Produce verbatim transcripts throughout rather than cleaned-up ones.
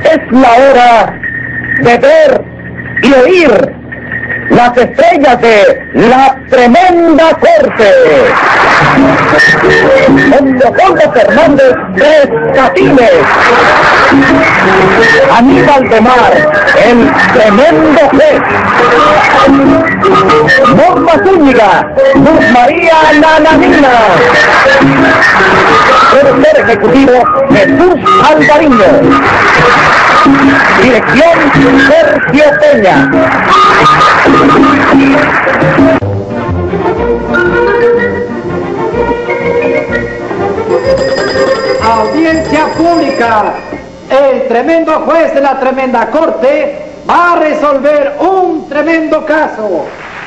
Es la hora de ver y oír las estrellas de la tremenda corte. Don Leopoldo Fernández Tres Catines, Aníbal de Mar, el tremendo juez, Norma Zúñiga, Luz María Nananina, productor ejecutivo Jesús Alvariño, dirección Sergio Peña. Audiencia pública. El tremendo juez de la tremenda corte va a resolver un tremendo caso.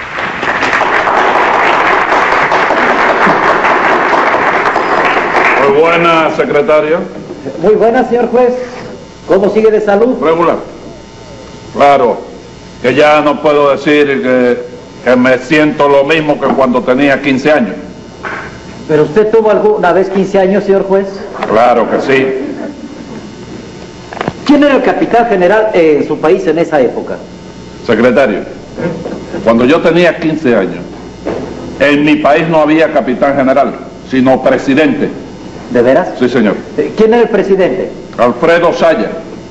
Muy buena, secretario. Muy buena, señor juez. ¿Cómo sigue de salud? Regular. Claro, que ya no puedo decir que, que me siento lo mismo que cuando tenía quince años. ¿Pero usted tuvo alguna vez quince años, señor juez? Claro que sí. ¿Quién era el capitán general en su país en esa época? Secretario, cuando yo tenía quince años, en mi país no había capitán general, sino presidente. ¿De veras? Sí, señor. ¿Quién era el presidente? Alfredo Saya,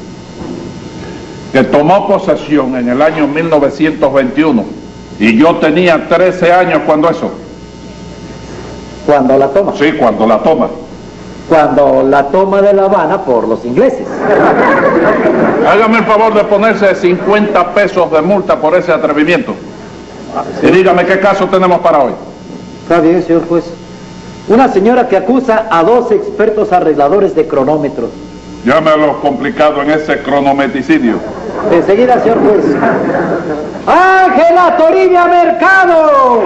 que tomó posesión en el año mil novecientos veintiuno, y yo tenía trece años cuando eso. ¿Cuando la toma? Sí, cuando la toma. Cuando la toma de La Habana por los ingleses. Hágame el favor de ponerse cincuenta pesos de multa por ese atrevimiento. Y dígame qué caso tenemos para hoy. Está bien, señor juez. Una señora que acusa a dos expertos arregladores de cronómetros. Llámelo complicado en ese cronometricidio. Enseguida, señor juez. ¡Ángela Toribia Mercado!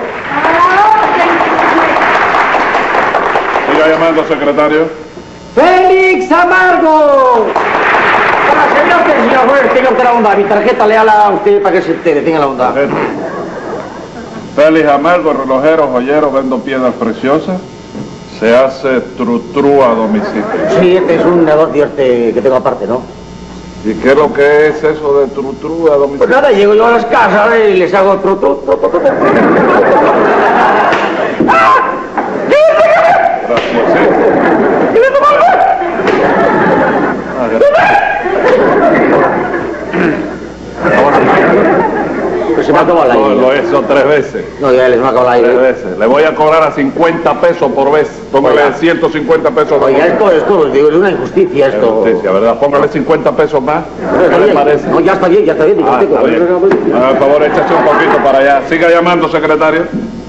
Siga llamando, secretario. ¡Félix Amargo! Señor, señor juez, tenga usted la onda. Mi tarjeta le habla a usted para que se entere, tenga la onda. Félix Amargo, relojero, joyero, vendo piedras preciosas. Se hace trutru a domicilio. Sí, este es un negocio este que tengo aparte, ¿no? ¿Y qué es lo que es eso de trutru a domicilio? Pues nada, llego yo a las casas y les hago trutru. Gracias, sí. Ah, gracias. Pues se me ha acabado el aire. No, lo hizo tres veces. No, ya les me ha acabado el Tres aire. veces. Le voy a cobrar a cincuenta pesos por vez. Póngale Oiga. ciento cincuenta pesos por Oiga, vez. esto, esto, digo, es una injusticia esto. Justicia, ¿verdad? Póngale cincuenta pesos más. No, ¿Qué está le bien. parece? No, ya está bien, ya está bien. digo, Ah, tengo. está bien. Ah, por favor, échase un poquito para allá. Siga llamando, secretario.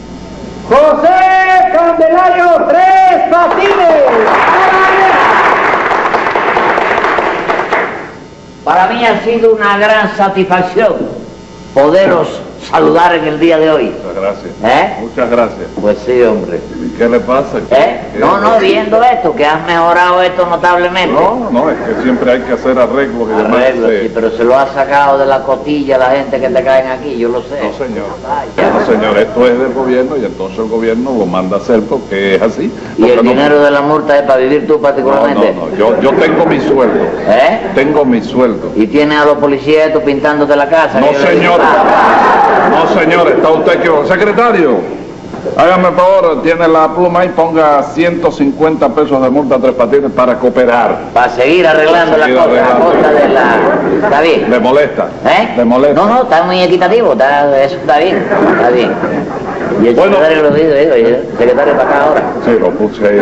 José Candelario Tres Patines. Para mí ha sido una gran satisfacción poderos saludar en el día de hoy. Muchas gracias. ¿Eh? Muchas gracias. Pues sí, hombre. ¿Y qué le pasa? ¿Qué- ¿Eh? qué- No, no, viendo esto, que has mejorado esto notablemente. No, no, es que siempre hay que hacer arreglos y demás. Arreglo, Sí. sí, pero se lo ha sacado de la costilla la gente que te caen aquí, yo lo sé. No, señor. Ay, ya. No, señor, esto es del gobierno y entonces el gobierno lo manda a hacer porque es así. ¿Y Porque el no- dinero de la multa es para vivir tú No, particularmente? no, no, yo, yo tengo mi sueldo. ¿Eh? Tengo mi sueldo. ¿Y tiene a los policías estos pintándote la casa? No, Que yo le digo, señor. ah, No, señor, está usted equivocado. Secretario, hágame el favor, tiene la pluma y ponga ciento cincuenta pesos de multa a Tres Patines para cooperar. Para seguir arreglando Para la seguir cosa, la arreglando. cosa de la... ¿Está bien? ¿Le molesta? ¿Eh? ¿Le molesta? No, no, está muy equitativo, está, eso está bien, está bien. Y el Bueno. secretario lo dice, digo, y el secretario para acá ahora. Sí, lo puse ahí.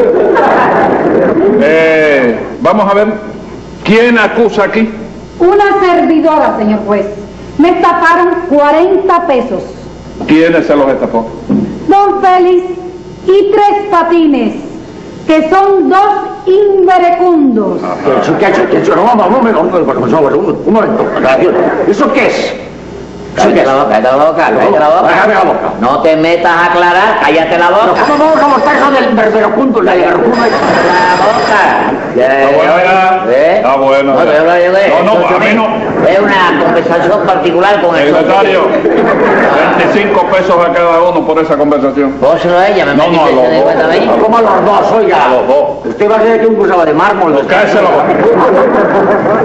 Eh, vamos a ver, ¿quién acusa aquí? Una servidora, señor juez. Me estafaron cuarenta pesos. ¿Quiénes se los estafó? Don Félix y Tres Patines, que son dos inverecundos. ¿Qué ha hecho? ¿Qué ha hecho? No, vamos, un momento, un momento. ¿Eso qué es? Cállate la boca, cállate la boca, cállate la boca. Déjame la boca. No te metas a aclarar, cállate la boca. ¿Cómo, cómo, cómo está eso del verberocundo? La verberocundo. La boca. Está bueno ya. ¿Eh? Está bueno No, ya. te hablo yo de- No, no, esto a mí es- no. Es una conversación particular con el Secretario, veinticinco pesos a cada uno por esa conversación. Póselo a ella, me No, no, metiste a los ese de cuenta a mí. ¿Cómo a los dos? Oiga. A los dos. Usted va a creer que un cruzaba de mármol. Pues cállese la boca.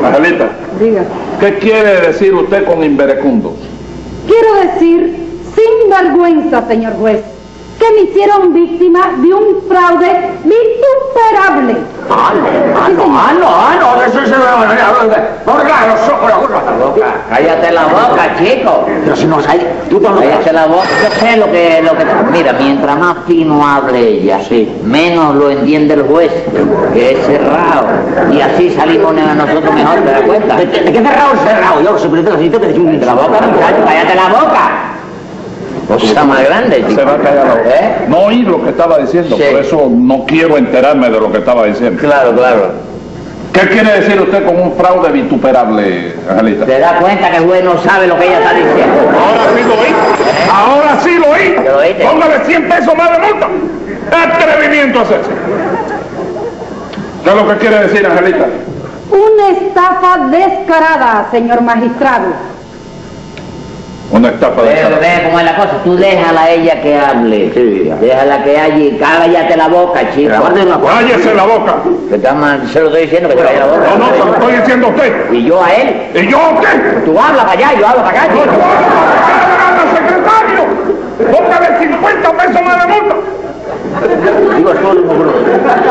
Angelita, Diga. ¿qué quiere decir usted con inverecundos? Quiero decir, sin vergüenza, señor juez, que me hicieron víctima de un fraude vituperable. Ah, no, ah, no, ah, no, ah, no, eso es... Por claro, los ojos, la boca. Cállate la boca, chico. Pero si no hay... Tú no lo Cállate la boca. Yo sé lo que... Lo que mira, mientras más fino hable ella, Sí. menos lo entiende el juez, que es cerrado. Y así salimos nosotros mejor, ¿te das cuenta? ¿De, de qué cerrado es cerrado? Yo lo sé, pero te necesito que te un De la boca, muchacho, cállate la boca. Cosa más grande, chico. Se va a callar la boca. ¿Eh? No oí lo que estaba diciendo, Sí. por eso no quiero enterarme de lo que estaba diciendo. Claro, claro. ¿Qué quiere decir usted con un fraude vituperable, Angelita? ¿Te das cuenta que el juez no sabe lo que ella está diciendo? Ahora sí lo oí. Ahora sí lo oí. ¿Lo oíste? Póngale cien pesos más de multa. Atrevimiento a hacerse. ¿Qué es lo que quiere decir, Angelita? Una estafa descarada, señor magistrado. Una estafa de Ve, esa. ve cómo es la cosa. Tú déjala a ella que hable. Sí. Déjala que hable y cállate la boca, chico. Cállese la boca. Que te ama- se lo estoy diciendo que te calle la boca. No, no, se lo estoy diciendo a usted. Y yo a él. ¿Y yo qué? Tú hablas para allá y yo hablo para acá, ¡No chico. puedo secretario! ¡Póngale cincuenta pesos más de multa! Digo, es todo el mismo grupo.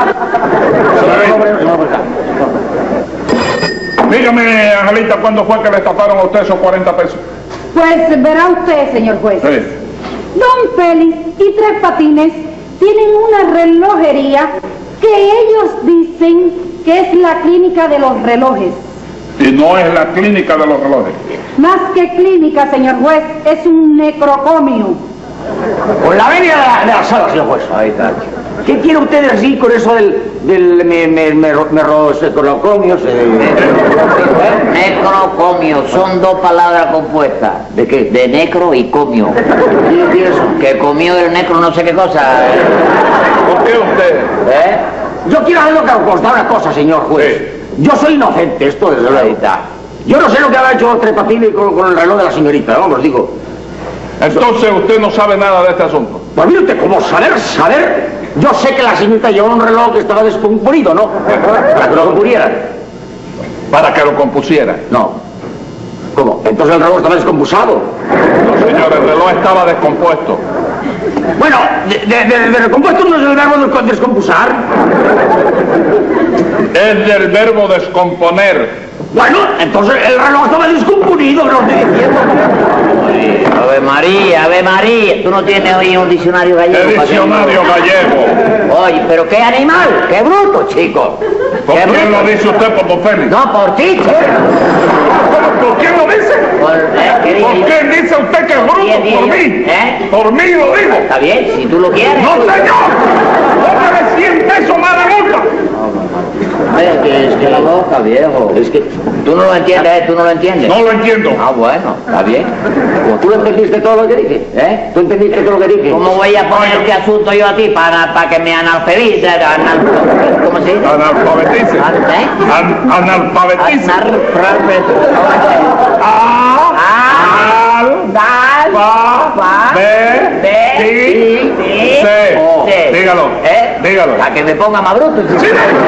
Dígame, Angelita, ¿cuándo fue que le estafaron a usted esos cuarenta pesos? Pues verá usted, señor juez. Sí. Don Félix y Tres Patines tienen una relojería que ellos dicen que es la clínica de los relojes. Y no es la clínica de los relojes. Más que clínica, señor juez, es un necrocomio. Con la venia de la, de la sala, señor juez. Ahí está. ¿Qué quiere usted decir con eso del... del... me... me... me... me... necrocomios? Necrocomio, son dos palabras compuestas. ¿De qué? De necro y comio. ¿Quién tiene eso? Que comió el necro no sé qué cosa. ¿Por qué usted? ¿Eh? Yo quiero hacer lo que constar una cosa, señor juez. Sí. Yo soy inocente, esto desde luego. Yo no sé lo que ha hecho Tres Patines con, con el reloj de la señorita, vamos, digo. Entonces usted no sabe nada de este asunto. Pues mire usted, como saber, saber, yo sé que la señorita llevaba un reloj que estaba descomponido, ¿no? Para que lo compusieran. Para que lo compusiera. No. ¿Cómo? Entonces el reloj estaba descompusado. No, señor, el reloj estaba descompuesto. Bueno, de, de, de, de recompuesto no es el verbo de descompusar. Es del verbo descomponer. Bueno, entonces el reloj estaba descomponido, lo estoy diciendo. Ave María, Ave María. Tú no tienes hoy un diccionario gallego. ¿Qué para que- diccionario gallego? Oye, pero qué animal, qué bruto, chico. ¿Por Qué quién bruto. lo dice usted, por don Félix? No, por ti, chico. ¿Por quién lo dice? Por, eh, ¿qué dije ¿Por yo? quién dice usted que es bruto? Bien, bien, Por yo- mí. ¿Eh? Por mí lo digo. Está bien, si tú lo quieres. ¡No, señor! ¡Póngale cien pesos más de multa! Es que, es que la boca, viejo. Es que tú no lo entiendes, ¿eh? Tú no lo entiendes. No lo entiendo. Ah, bueno, está bien. ¿Tú entendiste todo lo que dije? ¿Eh? ¿Tú entendiste todo lo que dije? ¿Cómo voy a poner este asunto yo a ti para, para que me analfabetice? Anal, ¿Cómo se dice? Analfabetice. ¿Eh? An- analfabetice. Analfabetice. A. Al. Dal. Fa. Fa. Be. Be. Ti. Si. Se. O. Se. Dígalo. ¿Eh? Dígalo. Para que me ponga más bruto. Sí.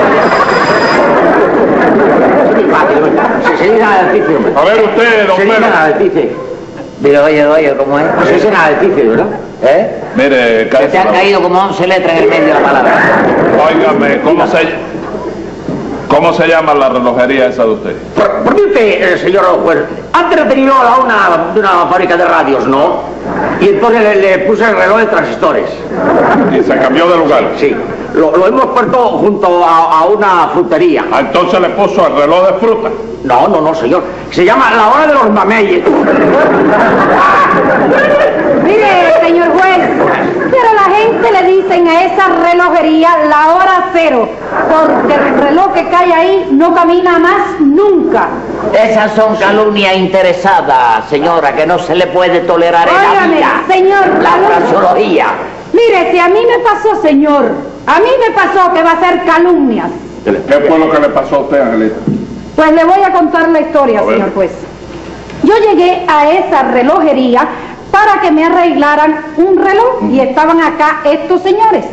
Se, se dice analfabetice, hombre. A ver usted, don Se dice Félix. analfabetice. Pero oye, oye, ¿cómo es? Se dice analfabetice, ¿verdad? ¿Eh? Mire, Que te han caído como once letras en el medio de la palabra. óigame, ¿cómo se, ¿cómo se llama la relojería esa de usted? Por, por mí usted, eh, señor juez, antes he tenido a una, de una fábrica de radios, ¿no? Y entonces le, le puse el reloj de transistores. Y se cambió de lugar. Sí, lo, lo hemos puesto junto a, a una frutería. Ah, entonces le puso el reloj de fruta. No, no, no, señor. Se llama la hora de los mameyes. Mire, señor juez, pero la gente le dicen a esa relojería la hora cero, porque el reloj que cae ahí no camina más nunca. Esas son calumnias interesadas, señora, que no se le puede tolerar en la Óigame, vida. señor, La calumnia. fraseología. Mire, si a mí me pasó, señor, a mí me pasó que va a ser calumnias. ¿Qué fue lo que le pasó a usted, Angelita? Pues le voy a contar la historia, A ver. señor juez. Yo llegué a esa relojería para que me arreglaran un reloj y estaban acá estos señores.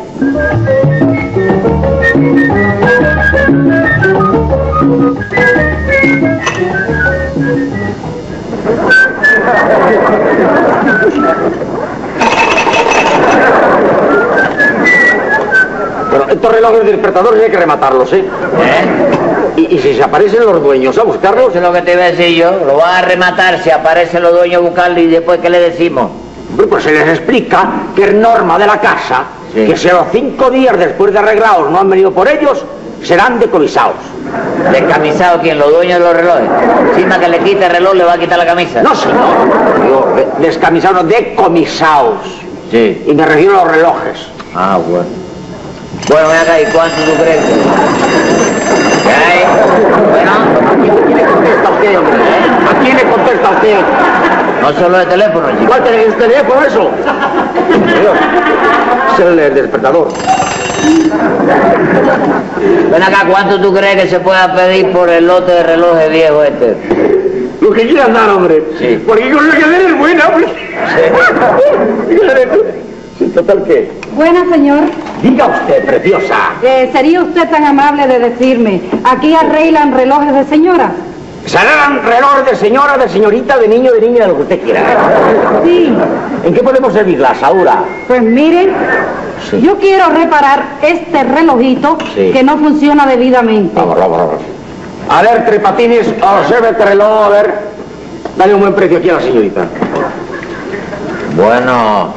relojes despertadores hay que rematarlos, ¿eh? ¿Eh? Y, y si se aparecen los dueños a buscarlos... Eso es lo que te iba a decir yo. Lo van a rematar si aparecen los dueños a buscarlo y después, ¿qué le decimos? Hombre, pues se les explica que es norma de la casa, Sí. que si a los cinco días después de arreglados no han venido por ellos, serán decomisados. ¿Descamisado quién? ¿Los dueños de los relojes? Encima que le quite el reloj, le va a quitar la camisa. No, señor. Digo, de- descamisados, no, decomisados. Sí. Y me refiero a los relojes. Ah, bueno. Bueno, ven acá, ¿y cuánto tú crees? ¿Qué hay? Bueno, ¿A quién le contesta usted, hombre? ¿A quién le contesta usted? no solo de teléfono, chico. ¿Cuál teléfono es teléfono eso? Señor, es el, el despertador. Ven acá, ¿cuánto tú crees que se pueda pedir por el lote de relojes viejo este? Lo que quieran dar, hombre. Sí. Porque con lo que den es buena, hombre. Sí. ¿Total qué? Buena, señor. Diga usted, preciosa. Eh, ¿Sería usted tan amable de decirme, aquí arreglan relojes de señora? Serán relojes de señora, de señorita, de niño, de niña, de lo que usted quiera. Sí. ¿En qué podemos servirla, Saura? Pues miren, Sí. yo quiero reparar este relojito Sí. que no funciona debidamente. Vamos, vamos, vamos. A ver, Tres Patines, observe este reloj, a ver. Dale un buen precio aquí a la señorita. Bueno.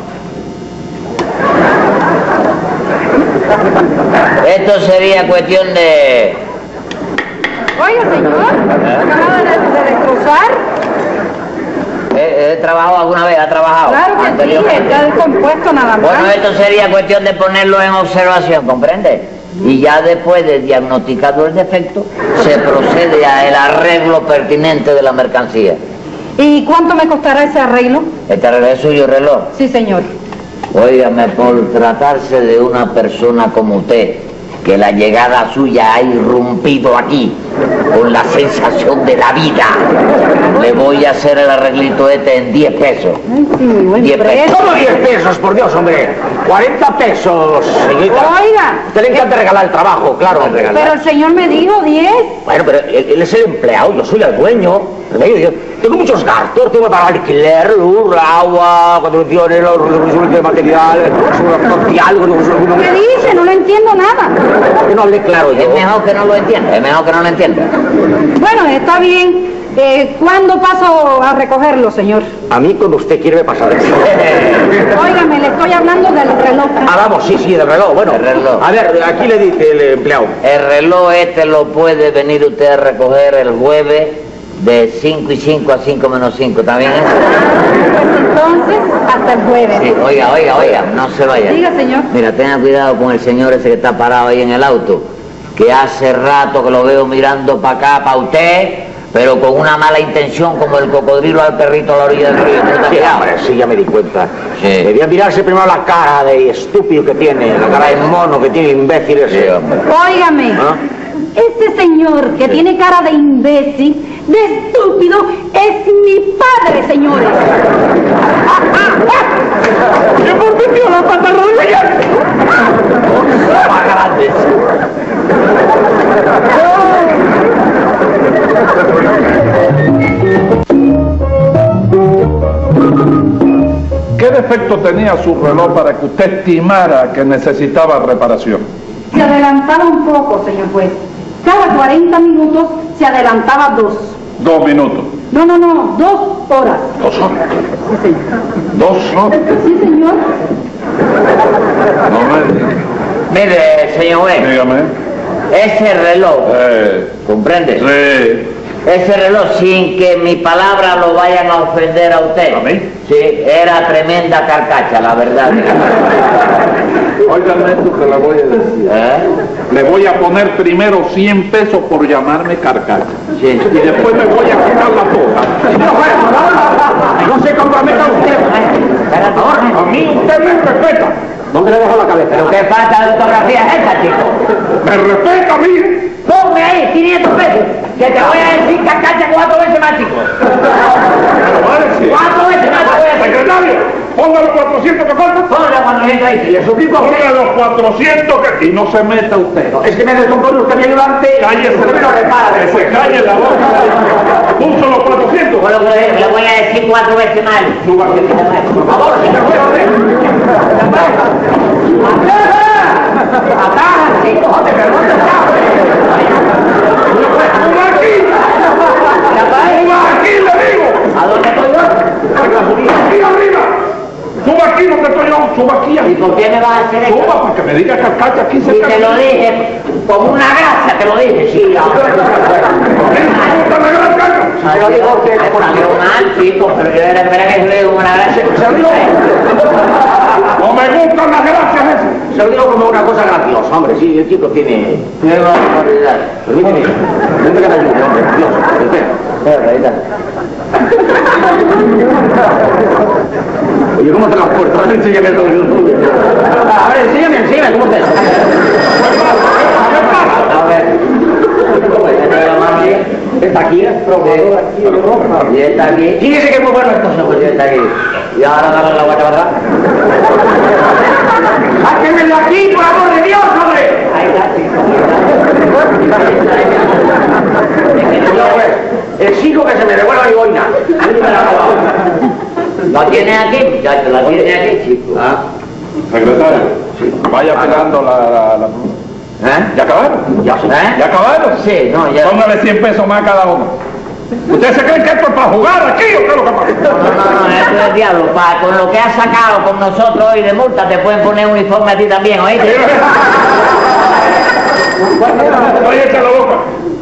Esto sería cuestión de... Oiga, señor, acaba de, de destrozar. ¿He, he trabajado alguna vez? ¿Ha trabajado? Claro que sí, anteriormente? está descompuesto nada más. Bueno, esto sería cuestión de ponerlo en observación, ¿comprende? Y ya después de diagnosticado el defecto, se procede a el arreglo pertinente de la mercancía. ¿Y cuánto me costará ese arreglo? ¿Este reloj es suyo, reloj? Sí, señor. Óigame, por tratarse de una persona como usted, que la llegada suya ha irrumpido aquí con la sensación de la vida, le voy a hacer el arreglito este en diez pesos. Ay, sí, muy buen Diez precio. pesos. ¿Cómo diez pesos, por Dios, hombre? cuarenta pesos, señorita. Oiga, A usted le encanta regalar el trabajo, claro. pero el señor me dijo diez. Bueno, pero él, él es el empleado, yo soy el dueño. Yo, yo tengo muchos gastos, tengo que pagar alquiler, luz, agua, contribuciones, los los de material, seguridad social, ¿Qué dice? No lo entiendo nada. que no hablé claro Es yo. mejor que no lo entienda, es mejor que no lo entienda. Bueno, está bien. Eh, ¿Cuándo paso a recogerlo, señor? A mí cuando usted quiere me pasa de eso. Óigame, le estoy hablando del reloj. Ah, vamos, sí, sí, del reloj. Bueno, El reloj. a ver, aquí le dice el empleado. El reloj este lo puede venir usted a recoger el jueves de cinco y cinco a cinco menos cinco, ¿está bien eso? Pues entonces, hasta el jueves. Sí, oiga, oiga, oiga, no se vaya. Diga, señor. Mira, tenga cuidado con el señor ese que está parado ahí en el auto, que hace rato que lo veo mirando para acá, para usted, pero con una mala intención, como el cocodrilo al perrito a la orilla del río. ¿Tú te has Sí, fijado? hombre, sí, ya me di cuenta. Sí. Debía mirarse primero la cara de estúpido que tiene, la cara de mono que tiene, imbécil ese. Sí, hombre. Óigame, ¿Ah? este señor que tiene cara de imbécil, de estúpido, es mi padre, señores. ¡Se volvió la pantalón de ella! Más grande. ¿Qué defecto tenía su reloj para que usted estimara que necesitaba reparación? Se adelantaba un poco, señor juez. Cada cuarenta minutos se adelantaba dos. Dos minutos. No, no, no, dos horas. Dos horas. Sí, señor. Dos horas. Sí, señor. No me... Mire, señor juez, Dígame. ese reloj, Eh, ¿comprende? sí. Ese reloj, sin que mi palabra lo vayan a ofender a usted. ¿A mí? Sí, era tremenda carcacha, la verdad. Óigame esto que le voy a decir. ¿Eh? Le voy a poner primero cien pesos por llamarme carcacha. Sí. Y después me voy a quitar la toga. No se comprometa usted. Espérate, A mí usted me respeta. ¿Dónde le dejo la cabeza? ¿Pero qué falta de ortografía es esa, chico? Me respeta a mí. Ponme ahí quinientos pesos, que te voy a decir carcacha cuatro veces más, chico. Cuatro veces más te voy a decir. Secretario, ponga los cuatrocientos que faltan. Ponle cuatrocientos ahí. Y eso mismo ponga los cuatrocientos que... Y no se meta usted. Es que me descompone usted mi ayudante. Cállese. Usted me lo repara. Que se calle la boca. Puso los cuatrocientos. Bueno, pues le voy a decir cuatro veces más. Suba. Por favor, señor juez. ¡Ataja, chico! ¡Joder, pero no te ¡Suba aquí! ¡Suba aquí, le digo! ¿A dónde estoy yo? ¡Aquí arriba! ¡Suba aquí donde estoy yo! ¡Suba aquí! ¿Y por qué me vas a hacer eso? ¡Suba para que me diga que alcalde aquí se Y te lo dije, como una grasa te lo dije, sí. ¿No te gusta la gran caca? Se lo digo que te salió mal, chico, pero yo era verdad que se lo digo como una grasa. Se lo digo. No me gustan las gracias esas. Se lo digo como una cosa graciosa, hombre, sí, el chico tiene... Tiene una barbaridad. Permíteme, permíteme que me ayude, hombre, Dios, espera. Espera, ahí está. Oye, ¿cómo te las puertas? A ver, enséñame todo. A ver, enséñame, enséñame, ¿cómo te... A ver, ¿cómo es? ¿Está aquí? Y está aquí. Fíjese que es muy bueno esto, pues está aquí. Y ahora dale la guacha, ¿verdad? ¡Sáquenme de aquí, por amor de Dios, hombre! Ahí está, sí. Exijo que se me devuelva mi boina. ¿La tiene aquí, muchacho? ¿La tiene aquí, chico? ¿Ah? Secretario, vaya pegando la... la, la... ¿Eh? ¿Ya acabaron? ¿Ya, ¿eh? ¿Ya acabaron? Sí, no, ya... Póngale cien pesos más a cada uno. ¿Ustedes se creen que esto es para jugar aquí o qué es lo que pasa? No, no, no, esto es el diablo. Pa, con lo que has sacado con nosotros hoy de multa, te pueden poner uniforme a ti también, ¿oíste? Oye, echa la boca.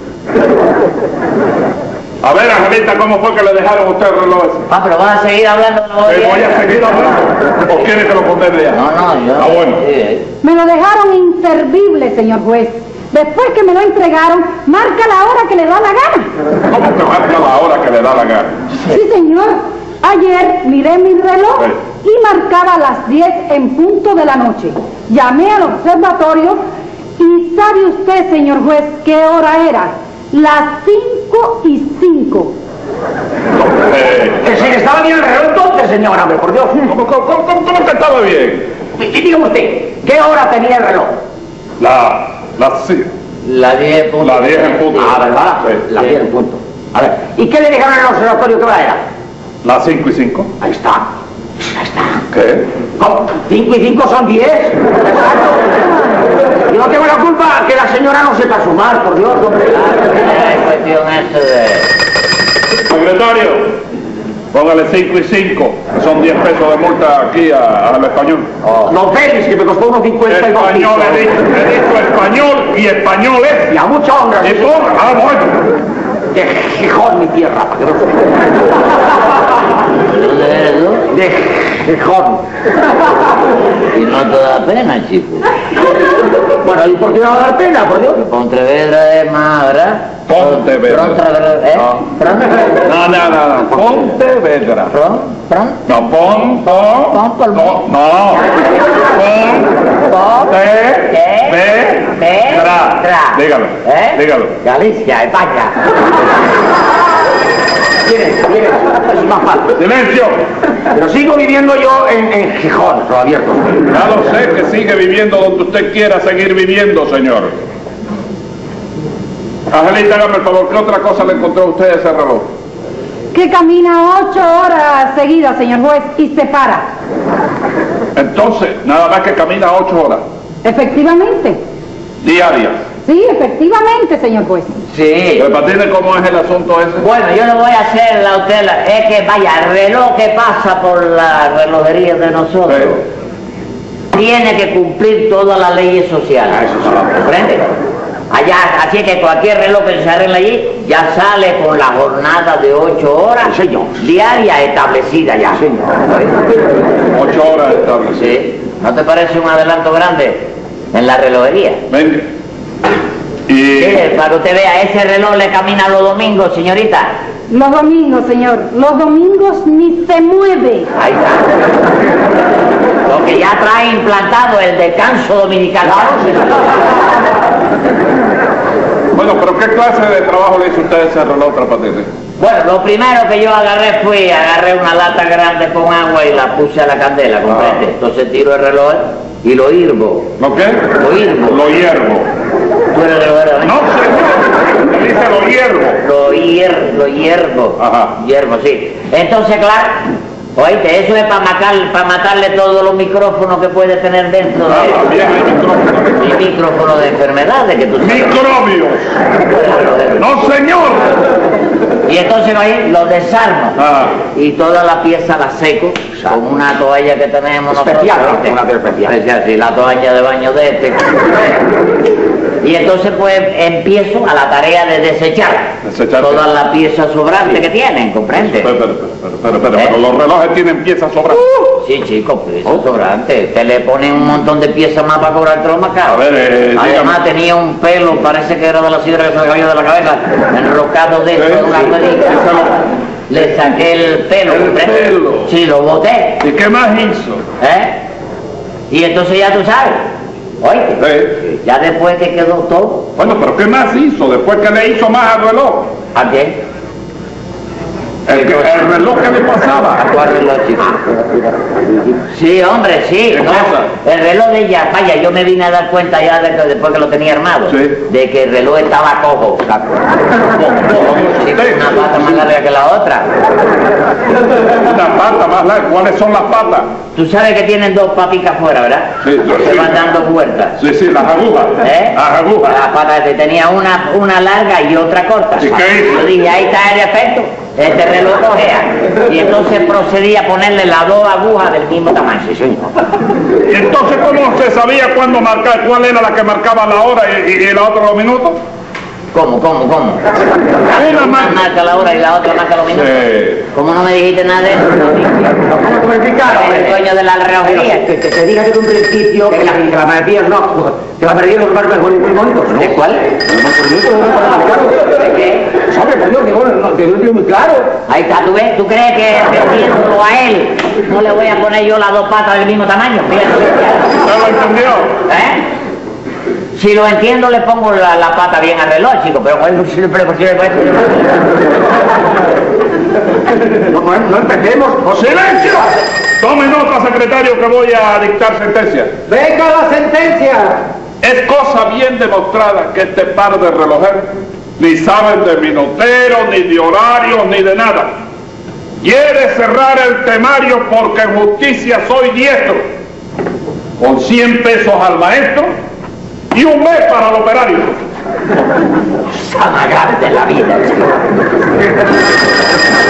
A ver, Angelita, ¿cómo fue que le dejaron a usted el reloj ese? Ah, pero vas a seguir hablando de los ¿Me voy a seguir hablando? ¿O quiere que lo condene ya? No, no, yo... Ah, bueno. Sí. Me lo dejaron inservible, señor juez. Después que me lo entregaron, marca la hora que le da la gana. ¿Cómo que marca la hora que le da la gana? Sí, señor. Ayer miré mi reloj y marcaba las diez en punto de la noche. Llamé al observatorio y ¿sabe usted, señor juez, qué hora era? Las cinco y cinco. Eh, Que si estaba bien el reloj entonces, señora, hombre, por Dios. ¿Cómo, cómo, cómo, cómo que estaba bien? Y dígame usted, ¿qué hora tenía el reloj? La... la... sí. La diez punto. La diez en punto. Ah, ¿verdad? Sí. La diez en punto. A ver, ¿y qué le dijeron en el observatorio que hora era? Las cinco y cinco. Ahí está. Ahí está. ¿Qué? ¿Cómo? ¿Cinco y cinco son diez? Exacto. Yo no tengo la culpa que la señora no sepa sumar, por Dios, hombre. Es cuestión eso de... Secretario, póngale cinco y cinco, que son diez pesos de multa aquí a- al español. Oh. No, Félix, que me costó unos cincuenta y dos Español, he dicho, pisos. he dicho español y español es. Y a mucha honra. Y ponga, ah, bueno. De Gijón, mi tierra, para que no se... ¿De dónde eres tú? De Gijón. Y no te da pena, chico. Bueno, ¿y por qué no va a dar pena, por Dios? Pontevedra es más, ¿verdad? Pontevedra. Pontevedra, ¿eh? No. No, no, no, no. Pontevedra. Pron, pron, No, pon, pon. Pon por mí. No, no. Pon. pon, Te. ¿qué? Ve. Ve. Tra. Tra. Dígalo. ¿Eh? Dígalo. Galicia, España. Miren, miren, es más fácil. Silencio. Pero sigo viviendo yo en, en Gijón, lo abierto. Ya lo sé que sigue viviendo donde usted quiera seguir viviendo, señor. Angelita, hágame el favor, ¿qué otra cosa le encontró a usted a ese reloj? Que camina ocho horas seguidas, señor juez, y se para. Entonces, nada más que camina ocho horas Efectivamente. diarias. Sí, efectivamente, señor juez. Sí. ¿Me patine cómo es el asunto ese? Bueno, yo no voy a hacer la usted, la- es que vaya, el reloj que pasa por la relojería de nosotros tiene que cumplir todas las leyes sociales. Ah, eso sí. ¿Comprende? Allá, así que cualquier reloj que se arregle allí ya sale con la jornada de ocho horas Sí, señor. diaria establecida ya. Ocho horas establecidas. Sí. ¿No te parece un adelanto grande en la relojería? Venga. Y... Sí, para que usted vea, ese reloj le camina los domingos, señorita. Los domingos, señor. Los domingos ni se mueve. Ahí está. Lo que ya trae implantado el descanso dominical. Bueno, pero ¿qué clase de trabajo le hizo usted a ese reloj, Tres Patines? Bueno, lo primero que yo agarré fue, agarré una lata grande con agua y la puse a la candela, ¿comprende? Ah. Entonces tiro el reloj y lo hirvo. ¿Lo qué? Lo hiervo. Lo hiervo. Tú eres relojero, ¿eh? No, señor. Me dice lo hiervo. Lo hier, lo hiervo. Ajá. Hiervo, sí. Entonces, claro, Oíste, eso es para matar, para matarle todos los micrófonos que puede tener dentro de Ah, bien, hay micrófono. y micrófonos de enfermedades que tú sabes. ¡Microbios! ¡No, señor! Y entonces ahí lo desarmo Ah. y toda la pieza la seco con una toalla que tenemos Especial, nosotros, ¿no? ¿viste? Una toalla especial. Especial, sí, la toalla de baño de este. Y entonces pues empiezo a la tarea de desechar ¿Desechar qué? todas las piezas sobrantes que tienen, ¿comprende? Espera, espera, espera, espera, espera, ¿Eh? pero los relojes tienen piezas sobrantes. Sí, chicos, piezas sobrantes. Te le ponen un montón de piezas más para cobrar más caro. A ver, eh, Además dígame. tenía un pelo, parece que era de la sidra que se le cayó de la cabeza, enrocado de eso Sí, en una sí, ruedita. sí, se lo- Le saqué el pelo, El ¿comprende? pelo. Sí, lo boté, ¿Y qué más hizo? ¿eh? Y entonces ya tú sabes, oíste, Sí. ya después que quedó todo, Bueno, pero ¿qué más hizo después que le hizo más al reloj? ¿a qué? El, que- el reloj que le pasaba. ¿A cuál reloj, chico? Sí, hombre, sí. ¿Qué no, cosa? el reloj de ella, vaya, yo me vine a dar cuenta ya de que- después que lo tenía armado, Sí. de que el reloj estaba cojo. Sí, una pata más larga que la otra. Una pata más larga. ¿Cuáles son las patas? Tú sabes que tienen dos papitas afuera, ¿verdad? Sí, Se sí. van dando vueltas. Sí, sí, las agujas. ¿Eh? Las agujas. Las patas que tenía una, una larga y otra corta. ¿Y qué hizo? Yo dije, ahí está el efecto. Este reloj cogea. Y entonces procedí a ponerle las dos agujas del mismo tamaño. Sí, señor. ¿Y entonces cómo se sabía cuándo marcar, cuál era la que marcaba la hora y, y- y la otra los minutos? ¿Cómo, cómo, cómo? Una Una marca. marca la hora y la otra marca los minutos. Sí. ¿Cómo no me dijiste nada de eso? ¿Cómo me explicaron? El dueño de la relojería. Que, que te diga desde un principio que, la, que las manecillas no, que va perdiendo los marcos muy bonitos, ¿no? ¿De cuál? ¿De qué? ¿Sabe, por Dios, que bueno, no, que no tiene muy claro? Ahí está, ¿tú ves? ¿Tú crees que vendiéndolo a él no le voy a poner yo las dos patas del mismo tamaño? Fíjate. ¿Usted lo entendió? ¿Eh? Si lo entiendo, le pongo la, la pata bien al reloj, chico, pero ¿cuál es el posible, posible, posible? No, no, no empecemos. ¡Silencio! Tome nota, secretario, que voy a dictar sentencia. ¡Venga la sentencia! Es cosa bien demostrada que este par de relojeros ni saben de minuteros, ni de horarios, ni de nada. Quiere cerrar el temario porque en justicia soy diestro. Con cien pesos al maestro y un mes para el operario. Salagarte la vida, chico.